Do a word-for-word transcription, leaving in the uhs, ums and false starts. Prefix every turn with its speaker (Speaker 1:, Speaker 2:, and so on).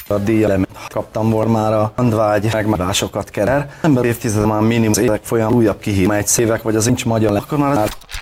Speaker 1: a díjat kaptam volna már a handvágy megmásokat kerer. Ember évtized már minimum évek folyam újabb kihívás, egy szévek vagy az nincs magyar le, akkor már